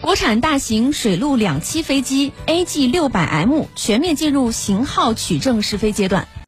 国产大型水陆两栖飞机 AG600M 全面进入型号取证试飞阶段。